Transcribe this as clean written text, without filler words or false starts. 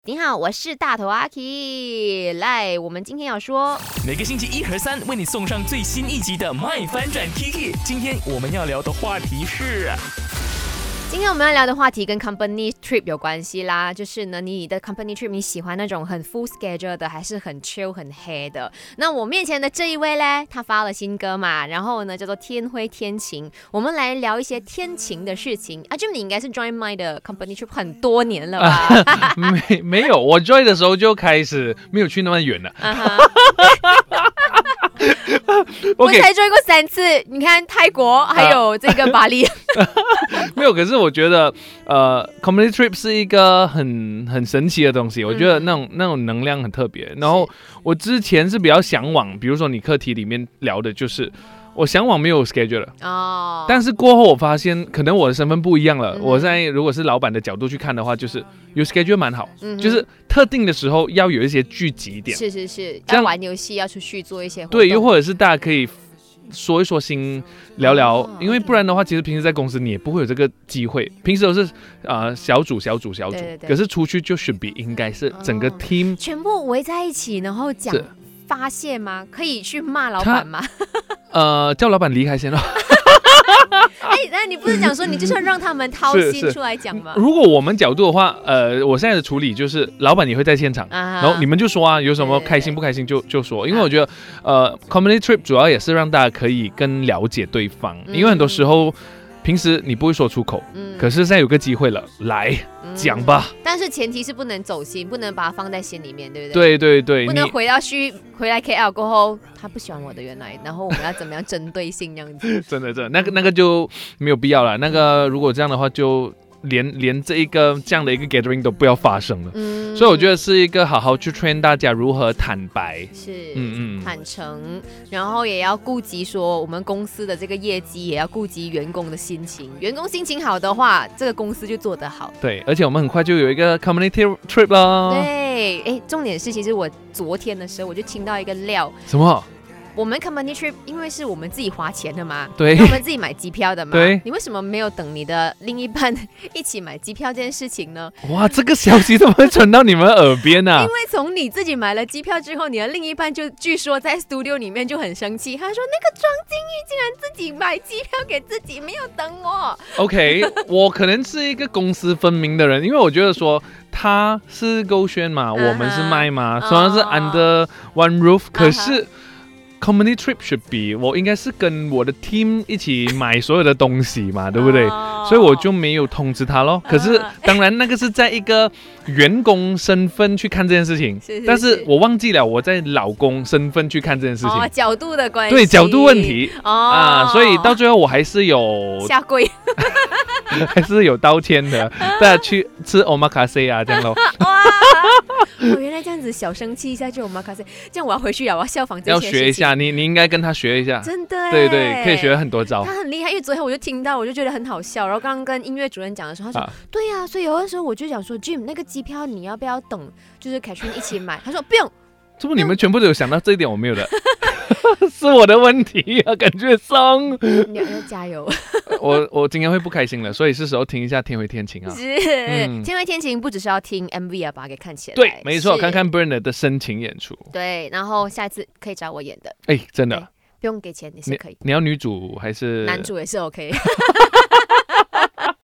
你好，我是大头阿 K。来，我们今天要说， 每个星期一和三为你送上最新一集的《麦翻转 Kiki》。今天我们要聊的话题是， 今天我们要聊的话题跟 company trip 有关系啦。就是呢，你的 company trip 你喜欢那种很 full schedule 的，还是很 chill 很 黑的？那我面前的这一位呢，他发了新歌嘛，然后呢叫做天灰天晴。我们来聊一些天晴的事情。阿 Jim， 你应该是 join my 的 company trip 很多年了吧？ 没有，我 join 的时候就开始没有去那么远了。 我才 join 过3次，你看泰国还有这个巴黎。 没有，可是我觉得community trip 是一个很神奇的东西，我觉得那种能量很特别。然后我之前是比较向往，比如说你课题里面聊的就是我向往没有 schedule 了，但是过后我发现可能我的身份不一样了。我在如果是老板的角度去看的话，就是有 schedule 蛮好，就是特定的时候要有一些聚集点， 是，要玩游戏，要出去做一些活动， 对，又或者是大家可以说一说心，聊聊，因为不然的话，其实平时在公司你也不会有这个机会。平时都是小组，对，可是出去就should be应该是整个 team 全部围在一起，然后讲发泄吗？可以去骂老板吗？ 叫老板离开先咯。 那你不是讲说你就是要让他们掏心出来讲吗？ 如果我们角度的话，我现在的处理就是老板也会在现场，然后你们就说啊，有什么开心不开心就说，因为我觉得community trip 主要也是让大家可以更了解对方，因为很多时候平时你不会说出口，可是现在有个机会了，来讲吧。 但是前提是不能走心，不能把它放在心里面，对不对？ 对， 不能回来 KL 过后，他不喜欢我的原来，然后我们要怎么样针对性这样子？ 真的，那个就没有必要了。那个如果这样的话就。连这样的一个 gathering 都不要发生了，所以我觉得是一个好好去 train 大家如何坦白， 是，坦诚，然后也要顾及说我们公司的这个业绩，也要顾及员工的心情。员工心情好的话，这个公司就做得好。 对，而且我们很快就有一个 community trip 了。 对，重点是其实我昨天的时候我就听到一个料， 什么？ 我们 company trip 因为是我们自己花钱的嘛， 对， 我们自己买机票的嘛， 对， 你为什么没有等你的另一半一起买机票这件事情呢？ 哇，这个消息怎么会传到你们耳边啊？ 因为从你自己买了机票之后，你的另一半就据说在 studio 里面就很生气，他说那个庄敬玉竟然自己买机票给自己，没有等我。 OK， 我可能是一个公私分明的人，因为我觉得说他是勾选嘛，我们是麦嘛，虽然是 under one roof， 可是community trip should be 我应该是跟我的 team 一起买所有的东西嘛，对不对？所以我就没有通知他咯。可是当然那个是在一个员工身份去看这件事情，但是我忘记了我在老公身份去看这件事情， 角度的关系， 对，角度问题所以到最后我还是有下跪， 还是有道歉的，大家去吃 omakase 啊，这样咯。 原来这样子小生气一下就omakase，这样我要回去了，我要效仿这些事情。 要学一下，你应该跟他学一下， 真的， 对，可以学很多招。 他很厉害，因为昨天我就听到，我就觉得很好笑。然后刚刚跟音乐主任讲的时候，他说对呀，所以有的时候我就想说 ，Jim 那个机票你要不要等，就是凯旋一起买？他说不用。 这不你们全部都有想到这一点，我没有的。是我的问题啊，感觉上。 你要加油。 我今天会不开心了，所以是时候听一下《天灰天晴》啊。 是，天灰天晴不只是要听 MV 啊，把它给看起来。 对，没错，看看 Bernard 的深情演出。 对，然后下一次可以找我演的。 真的。 不用给钱，你是可以。 你要女主还是？ 男主也是 OK。